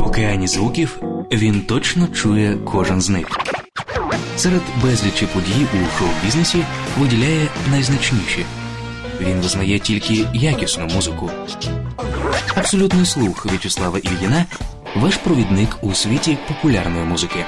океані звуків він точно чує кожен з них. Серед безлічі подій у шоу-бізнесі виділяє найзначніші. Він визнає тільки якісну музику. Абсолютний слух В'ячеслава Ільїна – ваш провідник у світі популярної музики.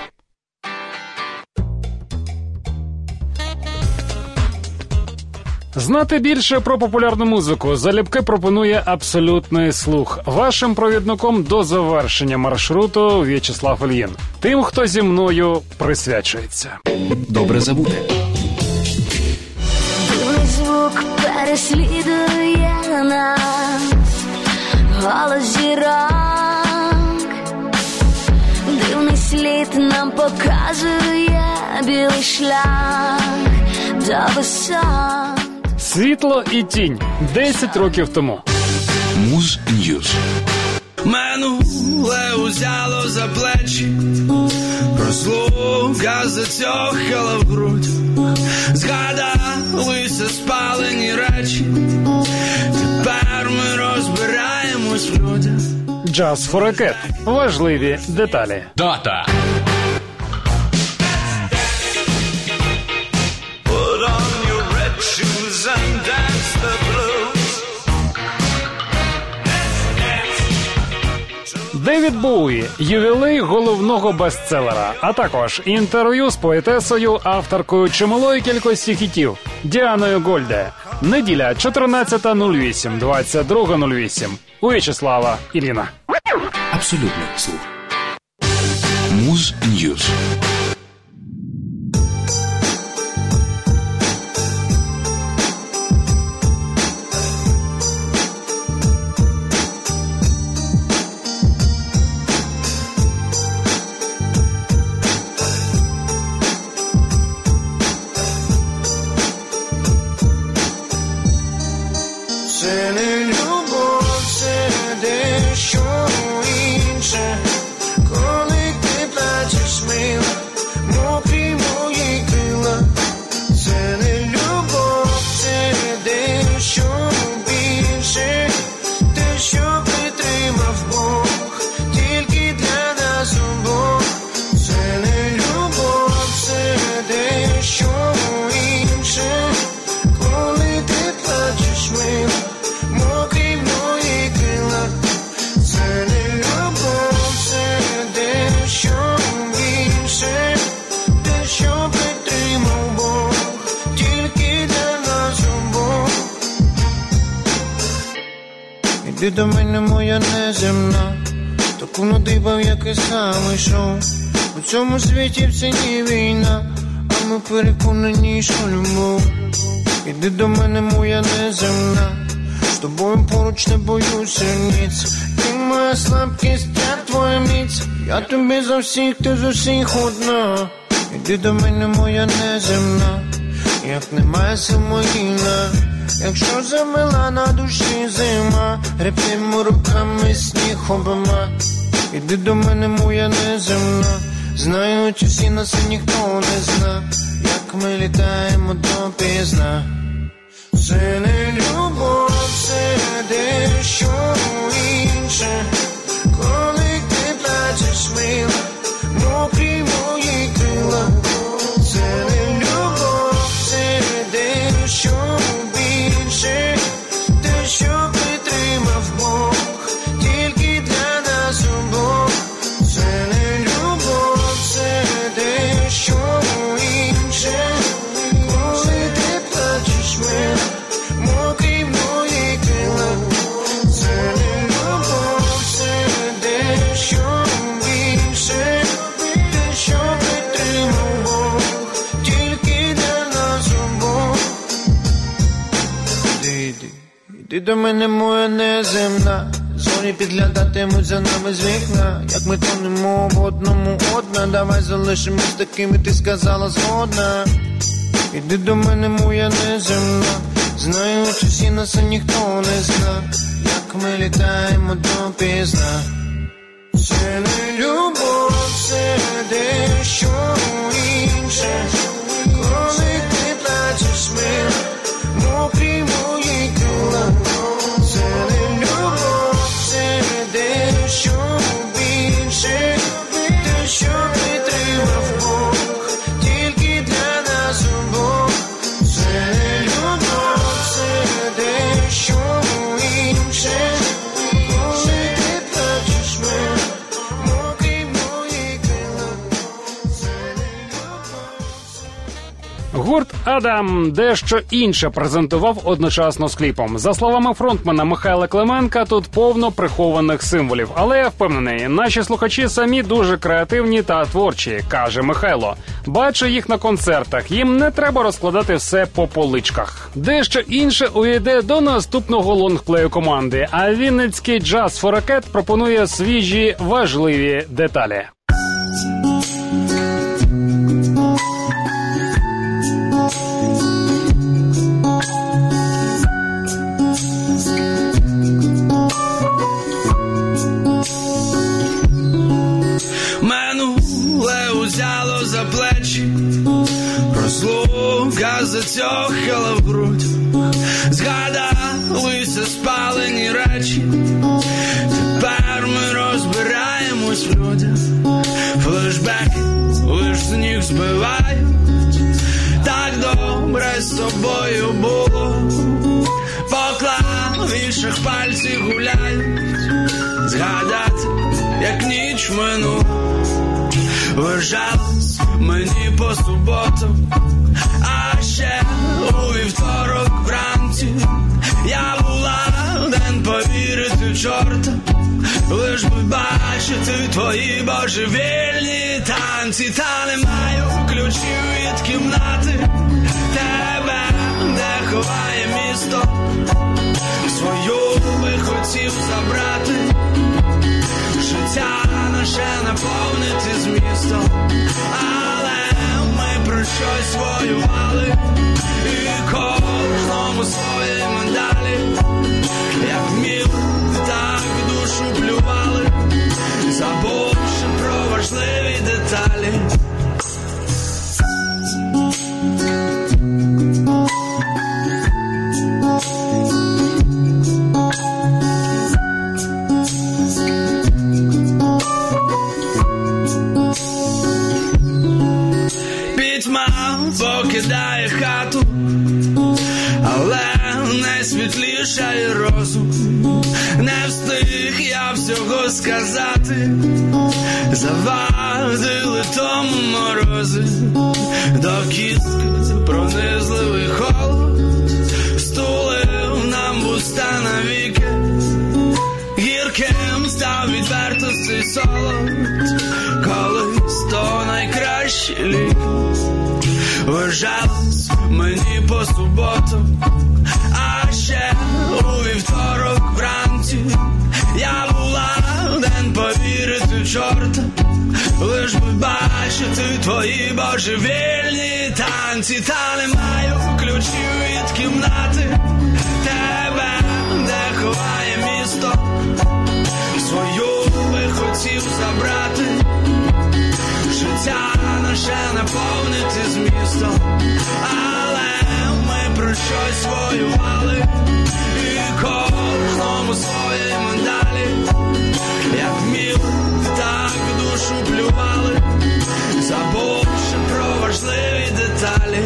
Знати більше про популярну музику залюбки пропонує абсолютний слух. Вашим провідником до завершення маршруту В'ячеслав Ільїн. Тим, хто зі мною присвячується. Добре забути. Дивний звук переслідує нас, голос зірок. Дивний слід нам показує білий шлях до висот. Світло і тінь. 10 років тому. Муз Ньюз. Минуле узяло за плечі, розлука затьохала в грудь, згадалися спалені речі, тепер ми розбираємось в людях. Just for a Cat. Важливі деталі. Дата. Девід Боуї – ювілей головного бестселера, а також інтерв'ю з поетесою, авторкою чималої кількості хітів Діаною Гольде. Неділя, 14.08, 22.08. У В'ячеслава Ільїна. Абсолютний слух. Муз Ньюз. Це не любов, це дещо інше. Коли ти плачеш, мила, мокрі мої крила. Це не любов, це дещо більше. Те, що притримав Бог, тільки для нас обох. Це не любов, це дещо інше. Коли ти плачеш, мила, мокрі мої крила. Це не любов, це дещо більше. Те, що притримав Бог, тільки для нас обох. Іди до мене, моя неземна, таку надибав, як і сам ішов. У цьому світі в ціні війна, а ми переконані, що любов. Іди до мене, моя неземна, з тобою поруч не боюся ніц. Ти моя слабкість, я твоя міць. Я тобі за всіх, ти з усіх одна. Іди до мене, моя неземна, як немає сил могильна. Якщо замила на душі зима, гребтимо руками сніг обома. Іди до мене, моя неземна, знають усі нас і ніхто не зна, як ми літаємо допізна. Це не любов, це дещо інше. Коли ти плачеш, мила, мокрі мої крила. Це не любов, це дещо більше. Те, що притримав Бог, тільки для нас обох. Це не любов, це дещо інше. Коли ти плачеш, мила, мокрі мої крила. Це не любов, це дещо більше. Те, що притримав Бог, тільки для нас обох. Іди до мене, моя неземна, зорі підглядатимуть за нами з вікна. Як ми тонемо в одному одна, давай залишимось такими, ти сказала згодна. Іди до мене, моя неземна, знають усі нас, а ніхто не зна, як ми літаємо допізна. Це не любов, це дещо інше. Коли ти плачеш, мила, мокрі мої крила. Це не любов, це дещо більше. Гурт «Адам» дещо інше презентував одночасно з кліпом. За словами фронтмена Михайла Клименка, тут повно прихованих символів. Але я впевнений, наші слухачі самі дуже креативні та творчі, каже Михайло. Бачу їх на концертах, їм не треба розкладати все по поличках. Дещо інше увійде до наступного лонгплею команди, а вінницький «Just for a Cat» пропонує свіжі, важливі деталі. Взяло за плечі, розлука затьохала в грудь, згадалися спалені речі, тепер ми розбираємось в людях, флешбеки лиш сніг збивають, так добре з тобою було, по клавішах пальці гуляють, згадати, як ніч минула. Вижалось мені по суботу, а ще у вівторок вранці я була день повірити чорта, лиш би бачити твої божевільні танці, та не маю ключів від кімнати тебе, де ховає місто, свою би хотів забрати. Життя наше наповнити змістом, але ми про щось воювали, і кожному свої медалі, як вміли, так душу плювали, забувши про важливі деталі. Покидає хату, але найсвітлішає розум. Не встиг я всього сказати, завадили тому морози, до кістки пронизливий холод, стулив нам вуста навіки, гірким став відвертостей солод, колись то найкращі ліки. Вижалось мені по суботу, а ще у вівторок вранці я була день повірити чорта, лиш би бачити твої божевільні танці, та не маю ключів від кімнати тебе, де ховає місто, свою би хотів забрати. Життя наше наповнити змістом, але ми про щось воювали, і кожному свої медалі, як вміли, так душу плювали, забувши про важливі деталі.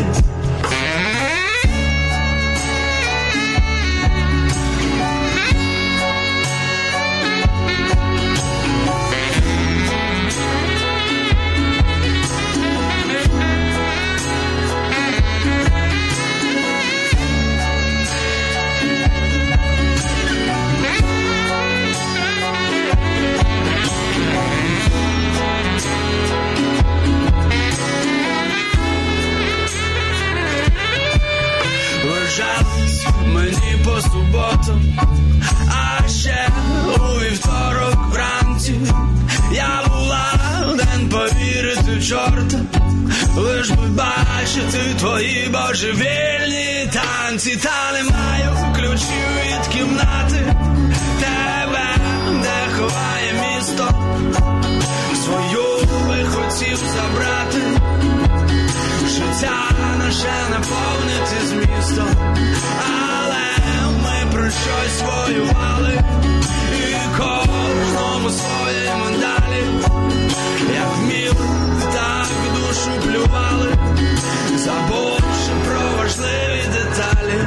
Мені по суботу, а ще у вівторок вранці я була день повірити чорта, лиш би бачити твої божевільні танці, та не маю ключів від кімнати тебе, де ховає місто, свою би хотів забрати. Життя наше наповнити змістом, але ми про щось воювали, і кожному свої медалі, як вміли, так душу плювали, забувши про важливі деталі.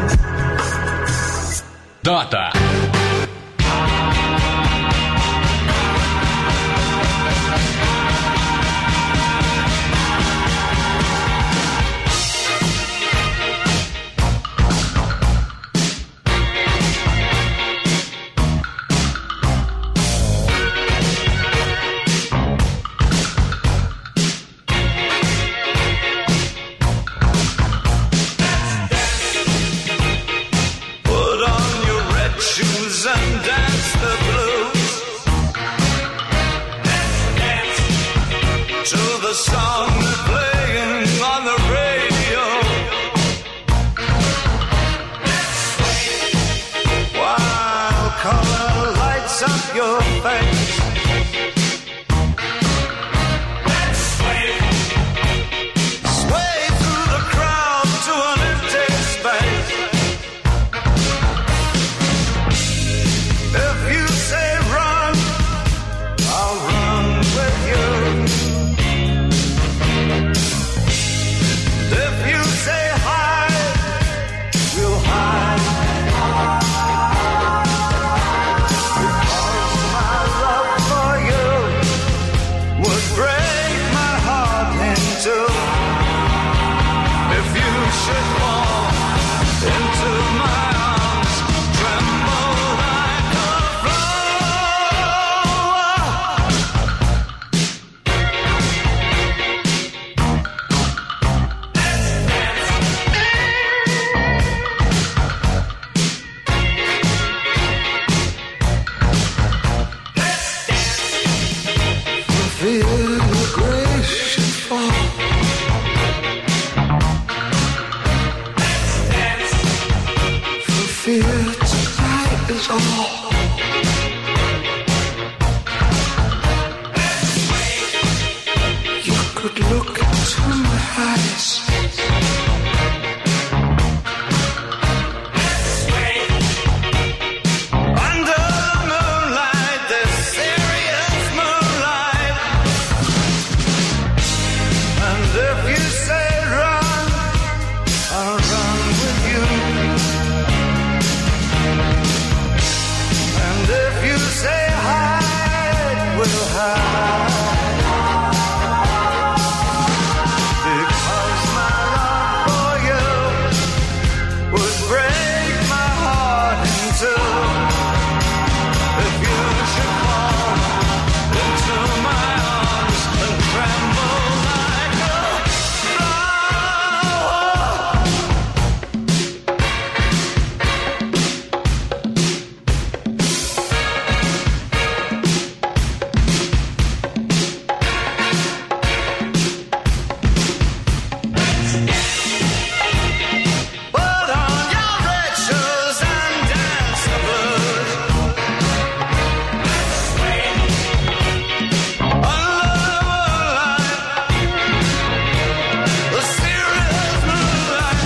Дата. to the song that's playing on the radio. While color lights up your face, sway through the crowd to an empty space. If you say run, I'll run with you. If you say hide, we'll hide. Because my love for you would break my heart in two. If you should fall into my arms, tremble like a flower. Feel the grace should fall. For fear tonight is all. You could look into my eyes. Under the moonlight, this serious moonlight. And if you say run, I'll run with you. And if you say hide, we'll hide. Because my love for you would break my heart in two. If you should fall into my arms and tremble like a flower. Put on your red shoes and dance the blues. Under the moonlight, the serious moonlight.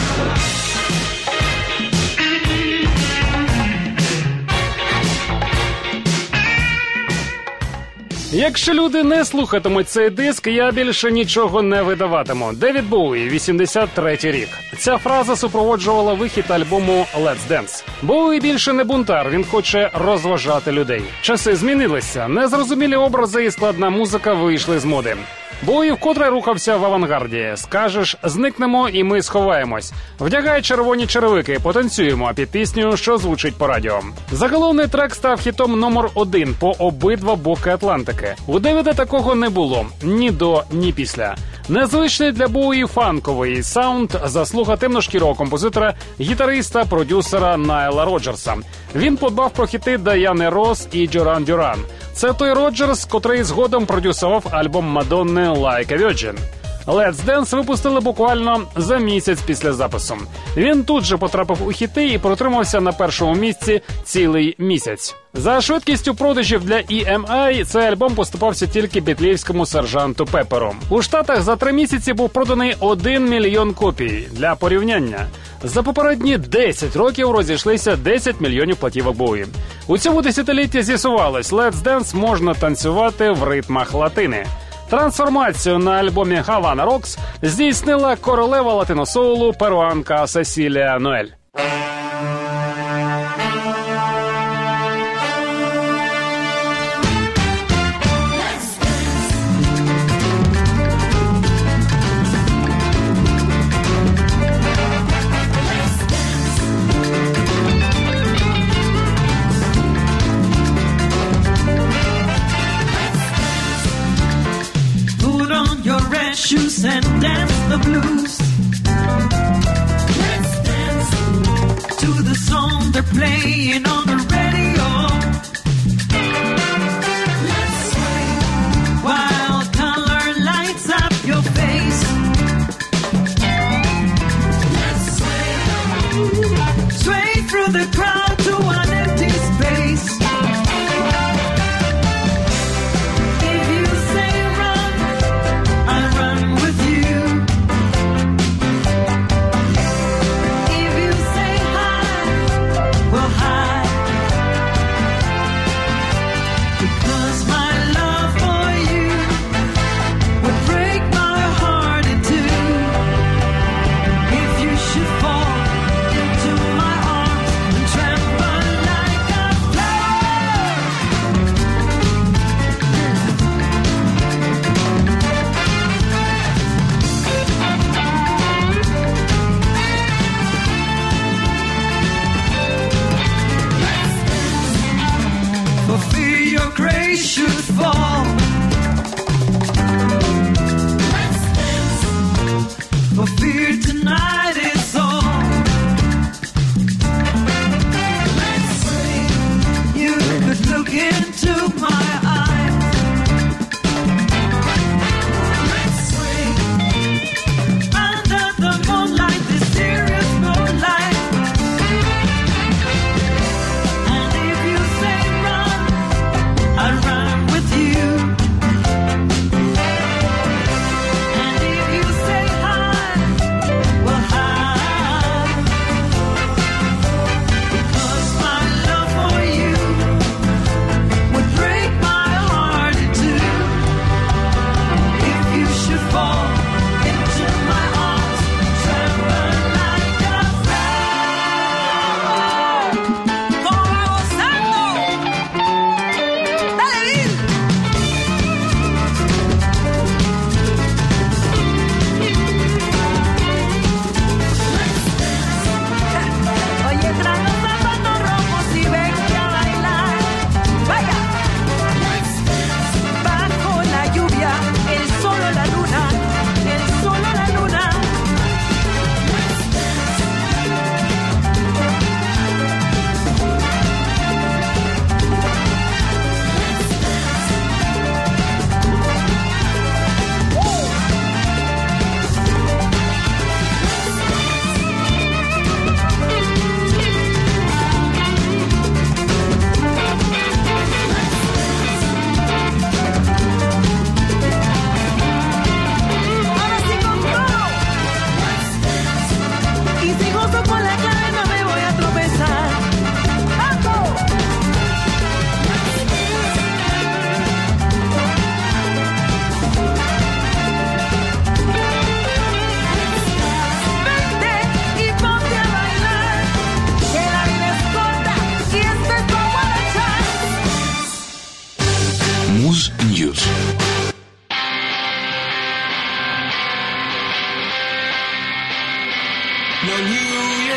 Якщо люди не слухатимуть цей диск, я більше нічого не видаватиму. Девід Боуї, 83-й рік. Ця фраза супроводжувала вихід альбому Let's Dance. Боуї більше не бунтар, він хоче розважати людей. Часи змінилися, незрозумілі образи і складна музика вийшли з моди. Боуї вкотре рухався в авангарді. Скажеш, зникнемо і ми сховаємось. Вдягай червоні черевики, потанцюємо під пісню, що звучить по радіо. Заголовний трек став хітом номер 1 по обидва боки Атлантики. У Девіда такого не було ні до, ні після. Незвичний для Боуї фанковий саунд – заслуга темношкірого композитора, гітариста, продюсера Найла Роджерса. Він подбав про хіти Даяни Росс і Дюран Дюран. Це той Роджерс, котрий згодом продюсував альбом Мадонни «Like a Virgin». Let's Dance випустили буквально за місяць після запису. Він тут же потрапив у хіти і протримався на першому місці цілий місяць. За швидкістю продажів для EMI цей альбом поступався тільки бітлівському сержанту Пепперу. У Штатах за 3 місяці був проданий 1 мільйон копій. Для порівняння, за попередні 10 років розійшлися 10 мільйонів платівок Боуї. У цьому десятилітті з'ясувалось, Let's Dance можна танцювати в ритмах латини. Трансформацію на альбомі Havana Rocks здійснила королева латиносоулу перуанка Сесілія Ноель. Shoes and dance the blues. Let's dance to the song they're playing on the radio. Let's sway while color lights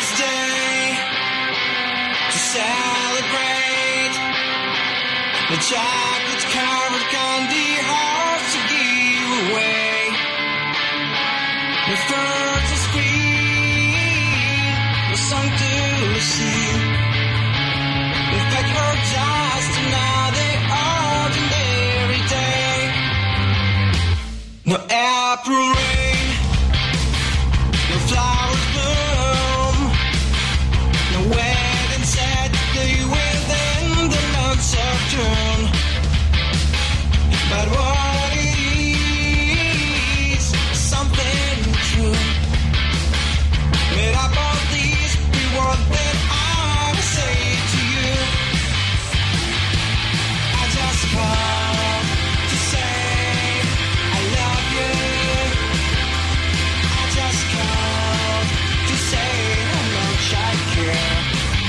this day to celebrate the chocolate-covered candy hearts to give away. The birds are scream, the song to sing. The fact her just another ordinary day. No April rain, no flowers bloom, no wedding set day within the months of June. But what it is, something true. Made up of these, be what that I will say to you. I just called to say I love you. I just called to say how much I care.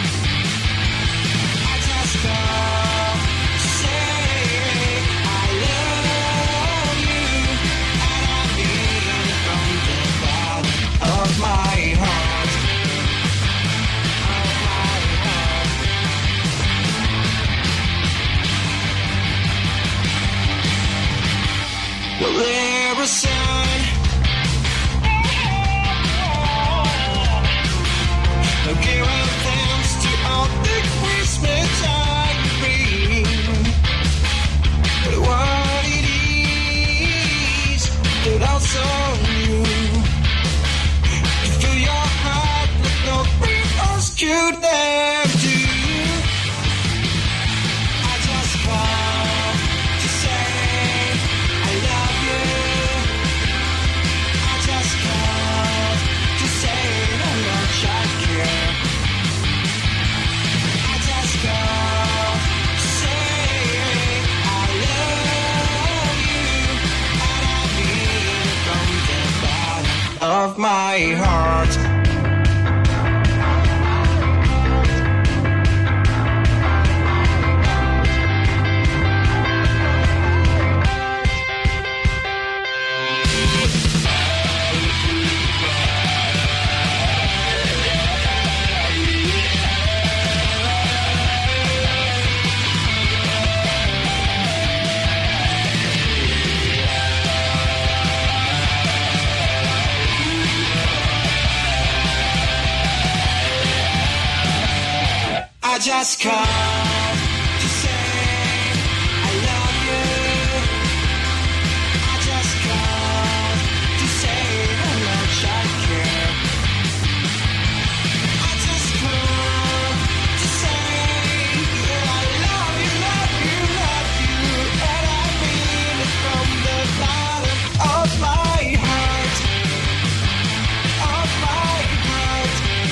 I just called to say I love you, and I mean it from the bottom of my heart. Of my heart. Well, there was sun. Giving thanks to all the Christmas I bring. But what it is that also you to fill your heart with no else could ever do. I just called to say I love you. I just called to say how much I care. I just called to say I love you, and I mean it from the bottom of my heart. I just called to say I love you. I just called to say how much I care. I just called to say that I love you, love you, love you, and I mean it from the bottom of my heart. Of my heart.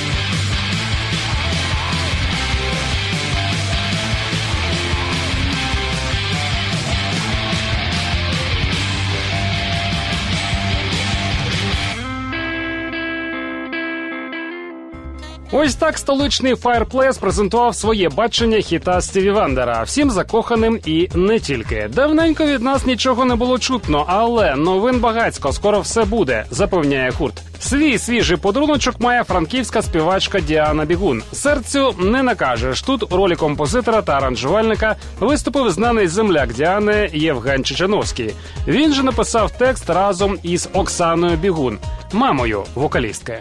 Ось так столичний Fireplace презентував своє бачення хіта Стіві Вандера, всім закоханим і не тільки. Давненько від нас нічого не було чутно, але новин багацько, скоро все буде, запевняє гурт. Свій свіжий подаруночок має франківська співачка Діана Бігун. Серцю не накажеш. Тут у ролі композитора та аранжувальника виступив знаний земляк Діани Євген Чеченовський. Він же написав текст разом із Оксаною Бігун, мамою вокалістки.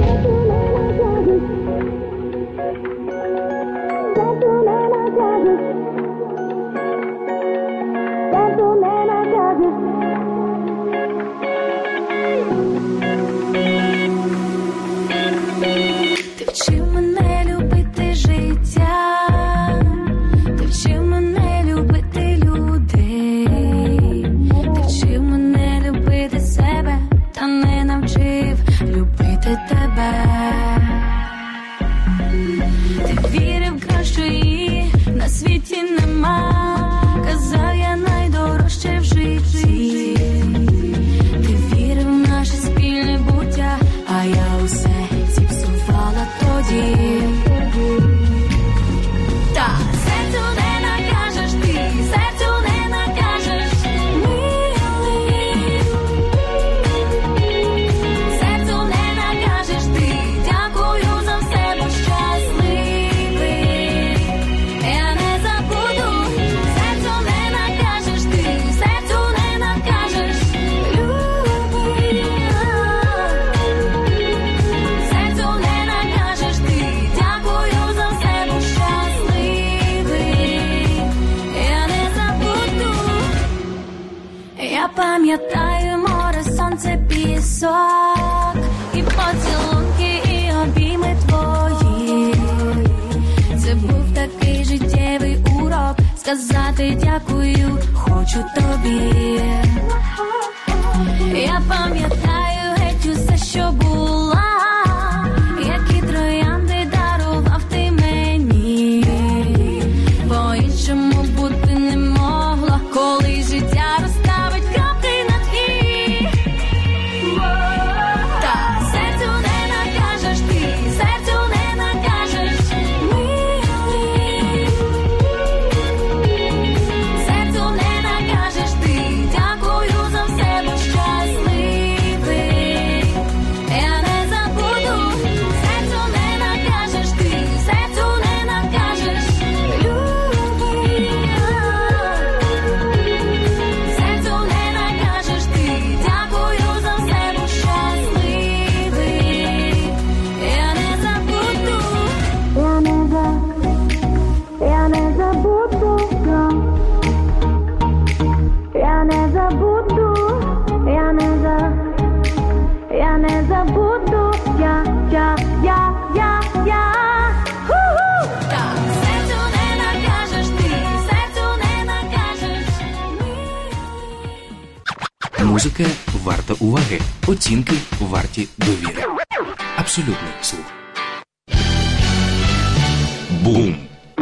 Ти вчив мене любити життя, ти вчив мене любити людей, ти вчив мене любити себе, та не навчив любити Я пам'ятаю море, сонце, пісок, і поцілунки, і обійми твої. Це був такий життєвий урок, сказати дякую хочу тобі. Я пам'ятаю геть усе, що була, які троянди дарував ти мені. По-іншому бути не могло, коли життя розставить крапки над «і». Та серцю не накажеш ти, серцю не накажеш, милий. Серцю не накажеш ти, дякую за все, бо щасливий. Я не забуду, серцю не накажеш ти, серцю не накажеш, любий. Серцю не накажеш ти, дякую за все, бо щасливий. Я не забуду, я не забуду, я не забуду, я не забуду, я. Ху-ху! Так, серцю не накажеш ти, серцю не накажеш, милий. Музика варта уваги, оцінки варті довіри. Абсолютний слух. Бум!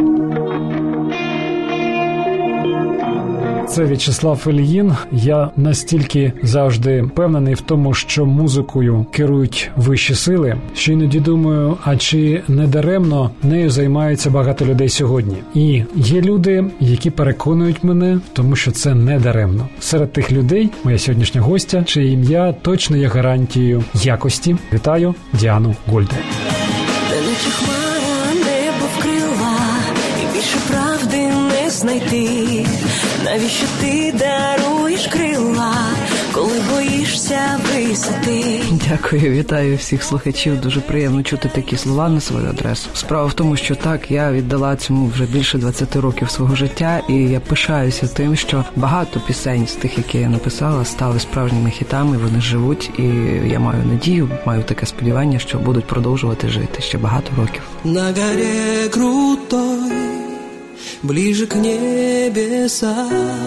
Це В'ячеслав Ільїн. Я настільки завжди впевнений в тому, що музикою керують вищі сили, що іноді думаю, а чи не даремно нею займаються багато людей сьогодні. І є люди, які переконують мене в тому, що це не даремно. Серед тих людей моя сьогоднішня гостя, чиє ім'я точно є гарантією якості. Вітаю Діану Гольде. Наче хмара небо вкрила, і більше правди не знайти. Навіщо ти даруєш крила, коли боїшся висоти? Дякую, вітаю всіх слухачів. Дуже приємно чути такі слова на свою адресу. Справа в тому, що так, я віддала цьому вже більше 20 років свого життя, і я пишаюся тим, що багато пісень з тих, які я написала, стали справжніми хітами, вони живуть, і я маю надію, маю таке сподівання, що будуть продовжувати жити ще багато років. На горе крутой, ближе к небесам,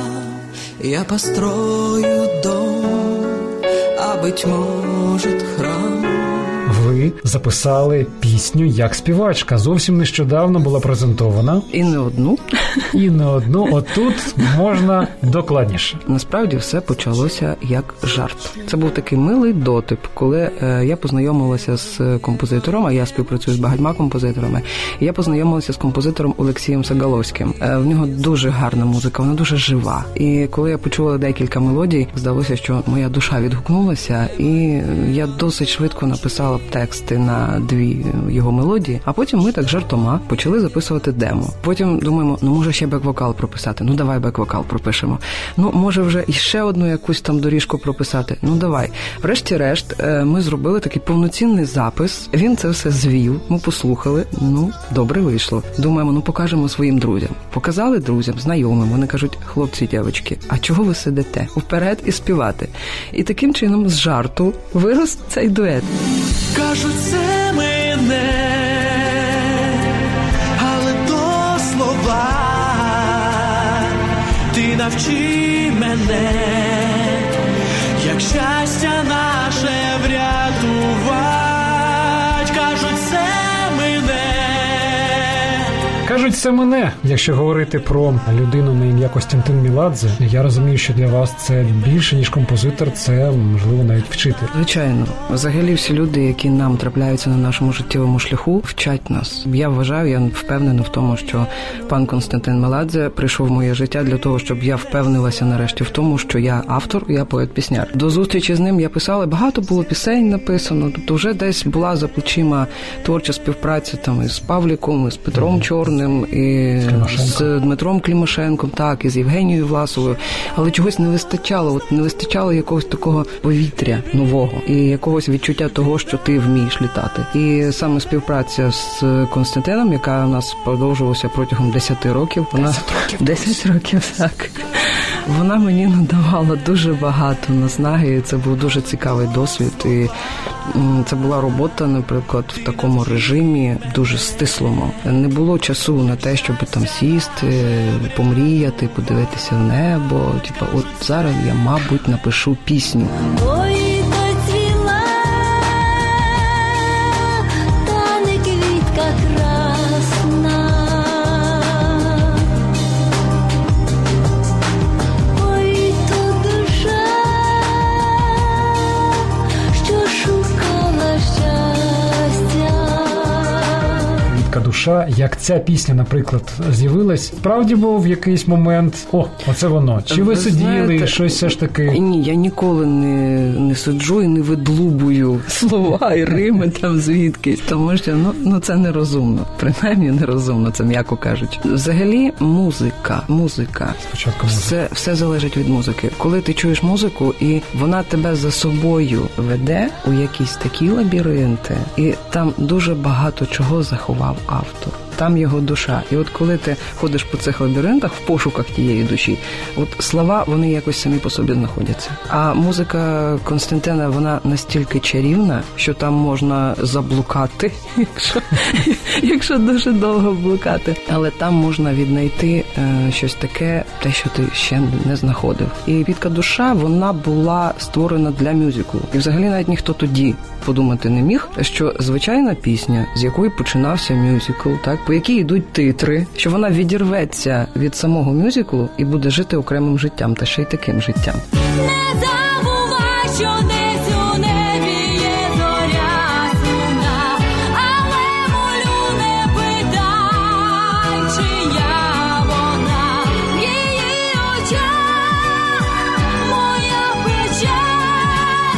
я построю дом, а быть может храм. Ви записали пісню як співачка. Зовсім нещодавно була презентована. І не одну. І не одну. Отут можна докладніше. Насправді все почалося як жарт. Це був такий милий дотип, коли я познайомилася з композитором, а я співпрацюю з багатьма композиторами, і я познайомилася з композитором Олексієм Сагаловським. В нього дуже гарна музика, вона дуже жива. І коли я почула декілька мелодій, здалося, що моя душа відгукнулася, і я досить швидко написала тексти на 2 його мелодії, а потім ми так жартома почали записувати демо. Потім думаємо, може ще бек-вокал прописати? Давай бек-вокал пропишемо. Може вже іще одну якусь там доріжку прописати? Давай. Врешті-решт, ми зробили такий повноцінний запис. Він це все звів, ми послухали. Добре вийшло. Думаємо, покажемо своїм друзям. Показали друзям, знайомим. Вони кажуть, хлопці, дівчатки, а чого ви сидите? Вперед і співати. І таким чином з жарту вирос цей дует. Кажуть, це мене, але то слова. Ти навчи мене, як щастя наше врятувать. Кажуть, це мене. Кажуть, це мене. Якщо говорити про людину на ім'я Костянтин Меладзе, я розумію, що для вас це більше, ніж композитор, це, можливо, навіть вчитель. Звичайно. Взагалі всі люди, які нам трапляються на нашому життєвому шляху, вчать нас. Я вважаю, я впевнена в тому, що пан Костянтин Меладзе прийшов в моє життя для того, щоб я впевнилася нарешті в тому, що я автор, я поет-пісняр. До зустрічі з ним я писала, багато було пісень написано, тобто вже десь була за плечима творча співпраця там із Павліком, із Петром Чорним, і з Дмитром Клімашенком, так, і з Євгенією Власовою, але чогось не вистачало якогось такого повітря нового і якогось відчуття того, що ти вмієш літати. І саме співпраця з Костянтином, яка у нас продовжувалася протягом 10 років, 10 років, так. Вона мені надавала дуже багато наснаги, і це був дуже цікавий досвід. І це була робота, наприклад, в такому режимі дуже стислому. Не було часу на те, щоб там сісти, помріяти, подивитися в небо. Типа, от зараз я, мабуть, напишу пісню. Ой, доцвіла, та не квітка красна. Ой, то душа, що шукала щастя. Квітка душа, як ця пісня, наприклад, з'явилась, справді був в якийсь момент, оце воно. Чи ви сиділи, знаєте, щось все ж таки? Ні, я ніколи не сиджу і не видлубую слова і рими там звідкись, тому що це нерозумно. Принаймні нерозумно, це м'яко кажучи. Взагалі музика. Спочатку музика. Все залежить від музики. Коли ти чуєш музику, і вона тебе за собою веде у якісь такі лабіринти, і там дуже багато чого заховав автор. Там його душа. І от коли ти ходиш по цих лабіринтах в пошуках тієї душі, от слова, вони якось самі по собі знаходяться. А музика Константина, вона настільки чарівна, що там можна заблукати, якщо дуже довго блукати. Але там можна віднайти щось таке, те, що ти ще не знаходив. І «Квітка душа», вона була створена для мюзиклу. І взагалі навіть ніхто тоді подумати не міг, що звичайна пісня, з якої починався мюзикл, так, по якій йдуть титри, що вона відірветься від самого мюзиклу і буде жити окремим життям, та ще й таким життям. Не забувай, що десь у небі є зоря сумна, але молю, не питай, чия вона. В її очах моя печаль,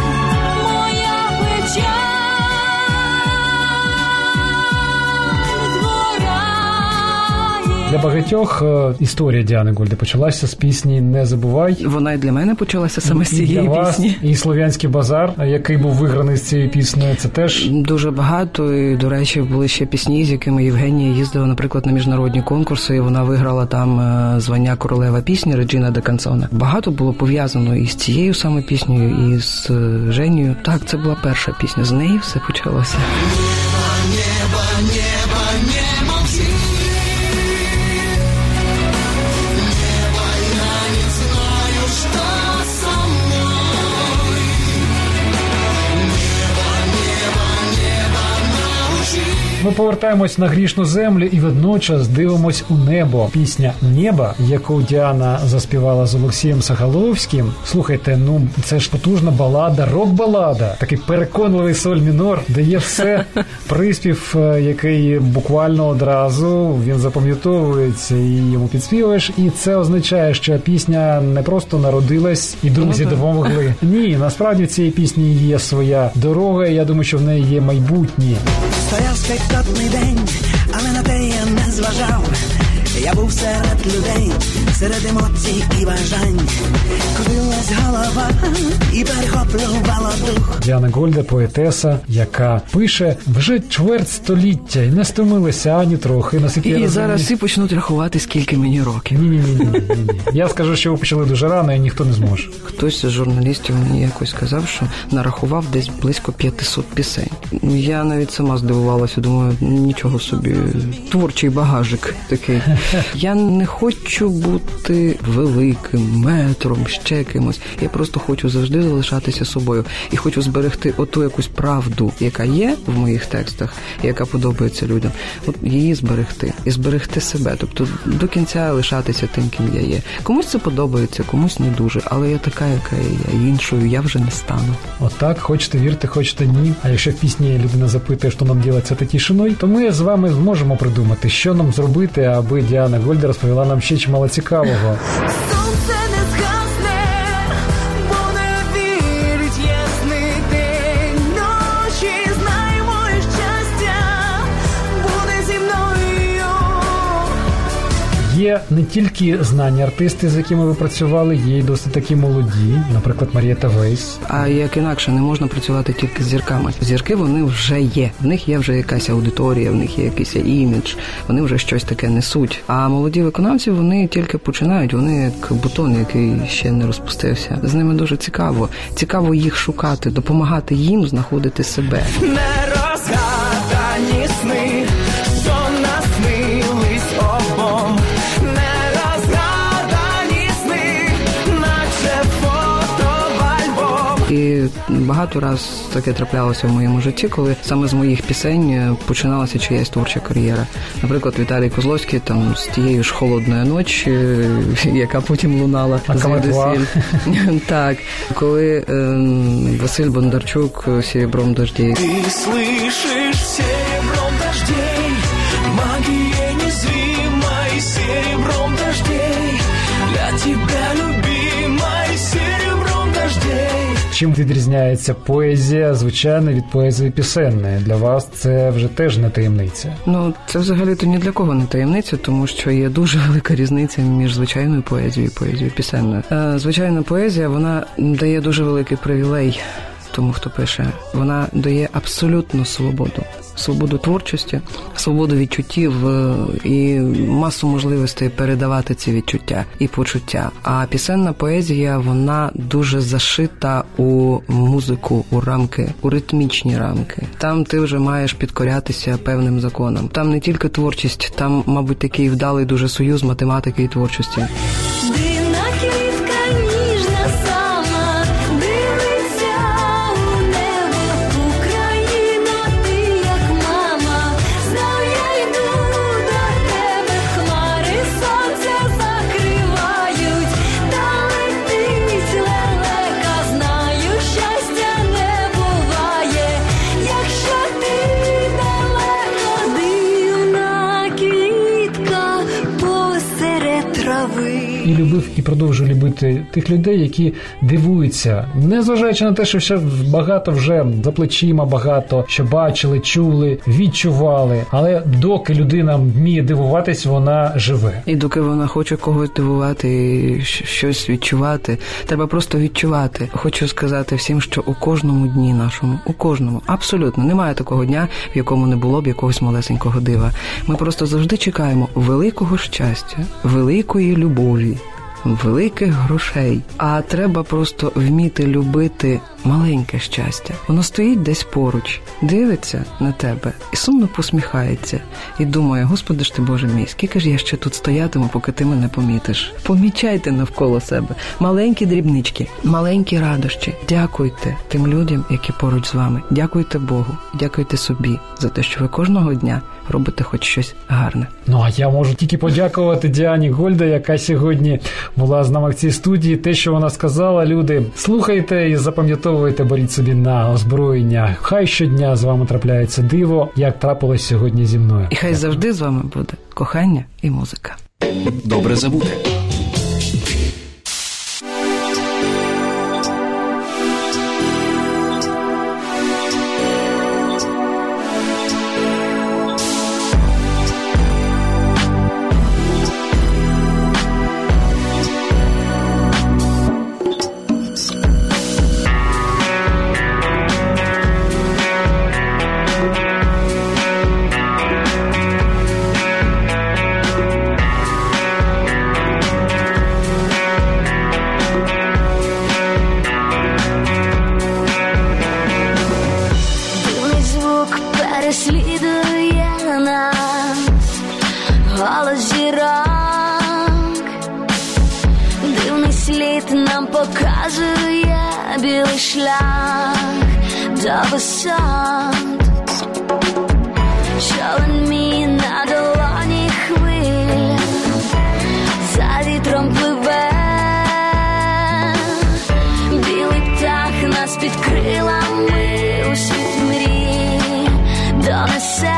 згорає. Для багатьох історія Діани Гольди почалася з пісні «Не забувай». Вона і для мене почалася саме з І для цієї вас, пісні. і «Слов'янський базар», який був виграний з цією піснею, це теж... Дуже багато, і, до речі, були ще пісні, з якими Євгенія їздила, наприклад, на міжнародні конкурси, і вона виграла там звання королева пісні Реджіна де Канцоне. Багато було пов'язано і з цією саме піснею, і з Женєю. Так, це була перша пісня, з неї все почалося. Ми повертаємось на грішну землю і водночас дивимось у небо. Пісня «Небо», яку Діана заспівала з Олексієм Сахаловським. Слухайте, це ж потужна балада, рок-балада. Такий переконливий соль мінор, де є все. Приспів, який буквально одразу, він запам'ятовується і йому підспівуєш. І це означає, що пісня не просто народилась і друзі допомогли. Ні, насправді в цій пісні є своя дорога, і я думаю, що в неї є майбутнє. Стояв спекотний день, але на те я не зважав. Я був серед людей, серед емоцій і бажань. Крутилась голова і перехоплювала дух. Діана Гольда, поетеса, яка пише вже чверть століття і не стомилася ані трохи. І зараз всі почнуть рахувати, скільки мені років. Ні. Я скажу, що ви почали дуже рано, і ніхто не зможе. Хтось з журналістів мені якось сказав, що нарахував десь близько 500 пісень. Я навіть сама здивувалася, думаю, нічого собі, творчий багажик такий. Я не хочу бути великим, метром, ще кимось. Я просто хочу завжди залишатися собою. І хочу зберегти оту якусь правду, яка є в моїх текстах, яка подобається людям. От її зберегти. І зберегти себе. Тобто до кінця лишатися тим, ким я є. Комусь це подобається, комусь не дуже. Але я така, яка я. Іншою я вже не стану. Отак, хочете вірте, хочете ні. А якщо в пісні людина запитує, що нам робити з цією тишиною, то ми з вами зможемо придумати, що нам зробити, аби Діана Гольда розповіла нам ще чимало цікавого. Сонце не згасне, бо не вірить ясний день. Ночі знай моє щастя буде зі мною. Є є не тільки знані артисти, з якими ви працювали, є й досить такі молоді, наприклад, Марієта Вейс. А як інакше, не можна працювати тільки з зірками. Зірки, вони вже є. В них є вже якась аудиторія, в них є якийсь імідж, вони вже щось таке несуть. А молоді виконавці, вони тільки починають, вони як бутон, який ще не розпустився. З ними дуже цікаво. Цікаво їх шукати, допомагати їм знаходити себе. Нерозгадані сни, що наснились обом. Нерозгадані сни, наче фото в альбом. І багато раз таке траплялося в моєму житті, коли саме з моїх пісень починалася чиясь творча кар'єра. Наприклад, Віталій Козловський там з тією ж «Холодної ночі», яка потім лунала звідусіль. Так, коли Василь Бондарчук «Серебром дождей». Ты слышишь серебром дождей, магией незримой, серебром дождей, для тебя, любимой, серебром дождей. Чим відрізняється поезія, звичайно, від поезії пісенної? Для вас це вже теж не таємниця. Ну, це взагалі-то ні для кого не таємниця, тому що є дуже велика різниця між звичайною поезією і поезією пісенною. Звичайна поезія, вона дає дуже великий привілей тому, хто пише. Вона дає абсолютну свободу. Свободу творчості, свободу відчуттів і масу можливостей передавати ці відчуття і почуття. А пісенна поезія, вона дуже зашита у музику, у рамки, у ритмічні рамки. Там ти вже маєш підкорятися певним законам. Там не тільки творчість, там, мабуть, такий вдалий дуже союз математики і творчості. Дивна квітка, ніжна сама, дивиться у небо, Україна, ти як мама. Знав я йду до тебе, хмари сонця закривають, та летить лелека, знаю, щастя не буває, якщо ти далеко. Дивна квітка посеред трави. І любив, і продовжую любити тих людей, які дивуються, незважаючи на те, що ще багато вже за плечима, багато що бачили, чули, відчували. Але доки людина вміє дивуватись, вона живе. І доки вона хоче когось дивувати і щось відчувати, треба просто відчувати. Хочу сказати всім, що у кожному дні нашому, у кожному, абсолютно, немає такого дня, в якому не було б якогось малесенького дива. Ми просто завжди чекаємо великого щастя, великої любові, великих грошей. А треба просто вміти любити маленьке щастя. Воно стоїть десь поруч, дивиться на тебе і сумно посміхається. І думає: Господи ж ти, Боже мій, скільки ж я ще тут стоятиму, поки ти мене помітиш. Помічайте навколо себе маленькі дрібнички, маленькі радощі. Дякуйте тим людям, які поруч з вами. Дякуйте Богу, дякуйте собі за те, що ви кожного дня робите хоч щось гарне. Ну, а я можу тільки подякувати Діані Гольда, яка сьогодні була з нами в цій студії. Те, що вона сказала, люди, слухайте і запам'ятовуйте, беріть собі на озброєння. Хай щодня з вами трапляється диво, як трапилось сьогодні зі мною. І хай завжди з вами буде кохання і музика. Добре забути. Дивний звук переслідує нас, голос зірок. Дивний слід нам показує білий шлях до висот. Човен мій на долоні хвиль, за вітром пливе. Білий птах нас під крилами у світ мрій донесе.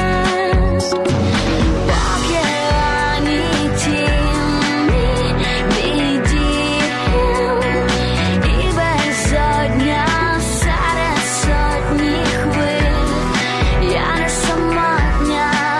Поки ані тіні, мій дім, і безодня серед сотні хвиль. Я не самотня,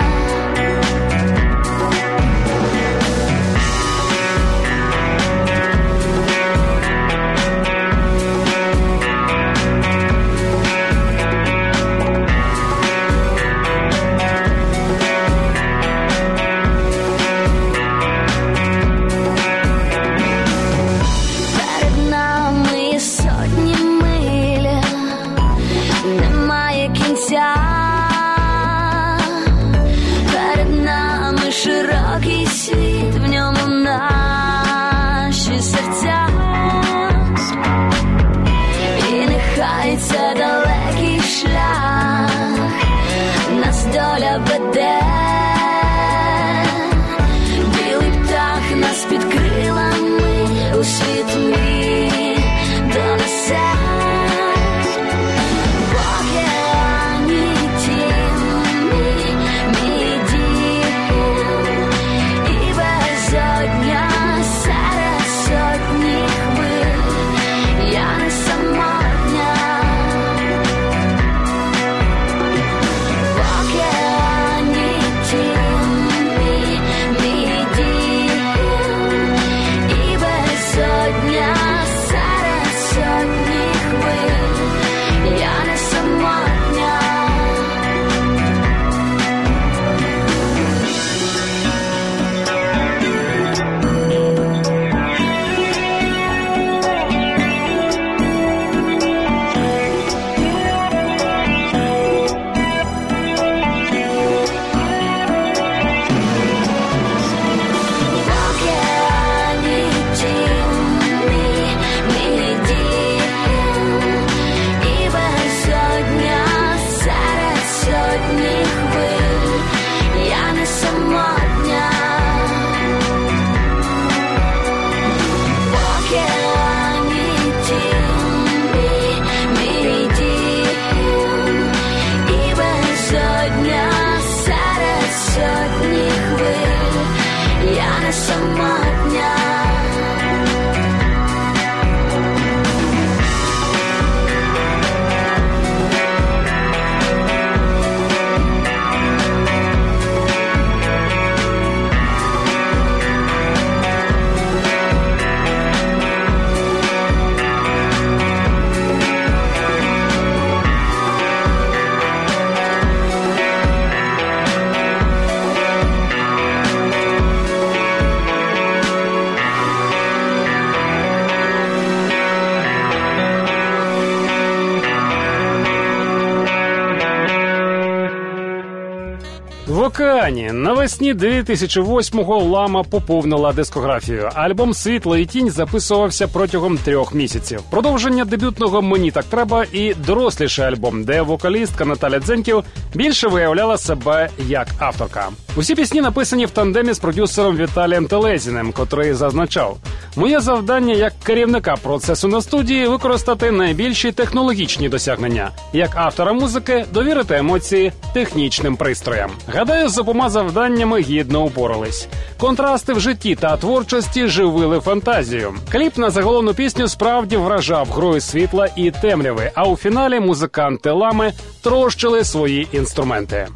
океані навесні 2008-го Лама поповнила дискографію. Альбом «Світло і тінь» записувався протягом 3 місяців. Продовження дебютного «Мені так треба» і доросліший альбом, де вокалістка Наталя Дзеньків більше виявляла себе як авторка. Усі пісні написані в тандемі з продюсером Віталієм Телезіним, котрий зазначав: «Моє завдання як керівника процесу на студії – використати найбільші технологічні досягнення. Як автора музики – довірити емоції технічним пристроям». Гадаю, з обома завданнями гідно упорались. Контрасти в житті та творчості живили фантазію. Кліп на заголовну пісню справді вражав грою світла і темряви, а у фіналі музиканти Лами трощили свої інструменти.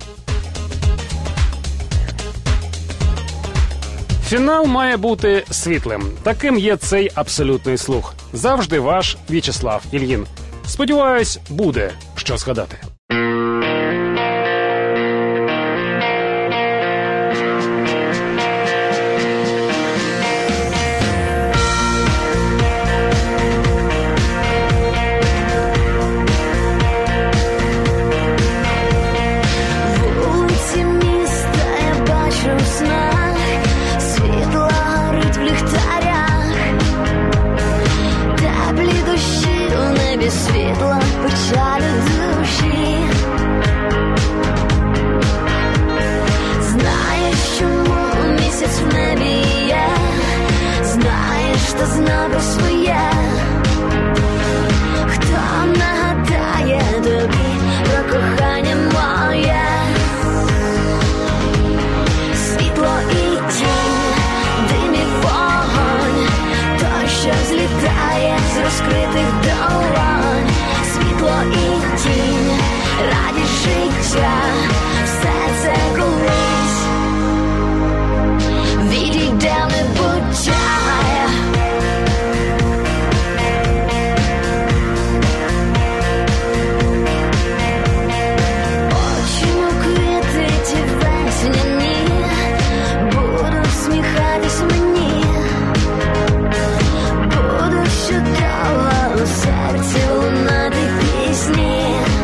Фінал має бути світлим. Таким є цей абсолютний слух. Завжди ваш В'ячеслав Ільїн. Сподіваюсь, буде що згадати. Вулиці міста я бачу в снах, світло горить в ліхтарях, теплі дощі у небі, світло печалі душі. Знаєш, чому місяць в небі є, знаєш, та знав про своє. Хто нагадає тобі про кохання моє? Світло і тінь, дим і вогонь, той, що злітає з розкритих долонь. Світло і тінь, радість життя, все це колись відійде в небуття. Очі квіти ті весняні будуть сміхатись мені, будуть щодо у серці лунати пісні.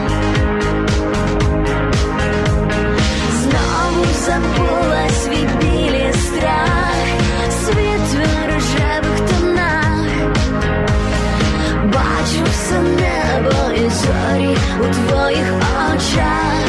Знову забула свій білий страх, світ в рожевих тонах. Бачу все небо і зорі у твоїх очах.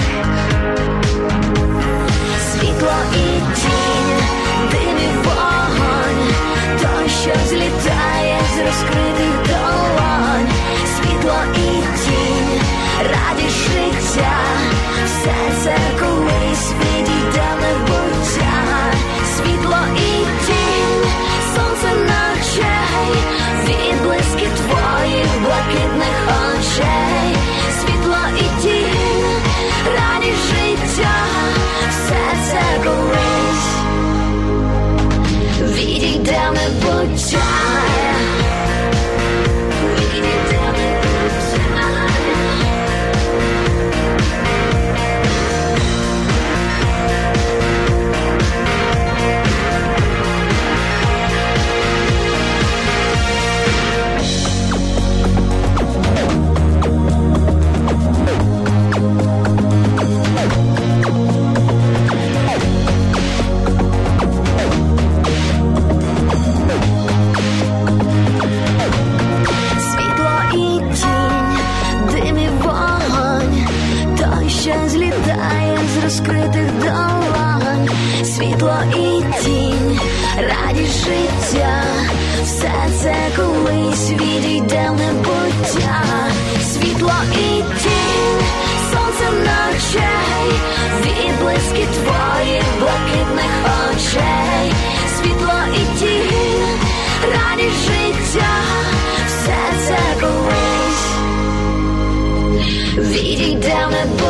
Світло і тінь, дим і вогонь, той, що злітає з розкритих долонь. Світло і тінь, радість життя, все це колись відійде в небуття. Світло і тінь, сонце ночей, відблиски твоїх блакитних очей. Світло і тінь, радість життя, все це колись відійде в небуття. Відійде в небуття. Світло і тінь, дим і вогонь, той, що злітає з розкритих долонь. Світло і тінь, радість життя, все це колись відійде в небуття. Світло і тінь, сонце ночей, відблиски твоїх блакитних очей. Світло і тінь, радість життя, все це колись відійде в небуття.